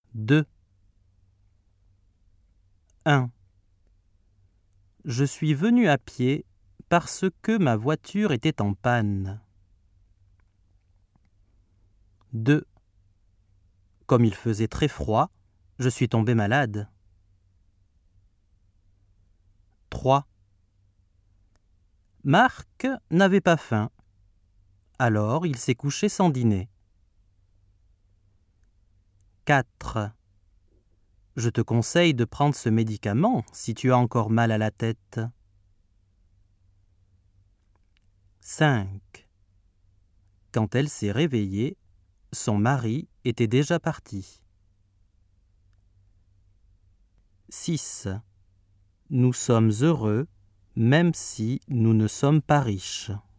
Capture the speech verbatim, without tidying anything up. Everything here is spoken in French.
deux. un. Je suis venu à pied parce que ma voiture était en panne. deux. Comme il faisait très froid, je suis tombé malade. trois. Marc n'avait pas faim, alors il s'est couché sans dîner. quatre. Je te conseille de prendre ce médicament si tu as encore mal à la tête. cinq. Quand elle s'est réveillée, son mari était déjà parti. six. Nous sommes heureux même si nous ne sommes pas riches.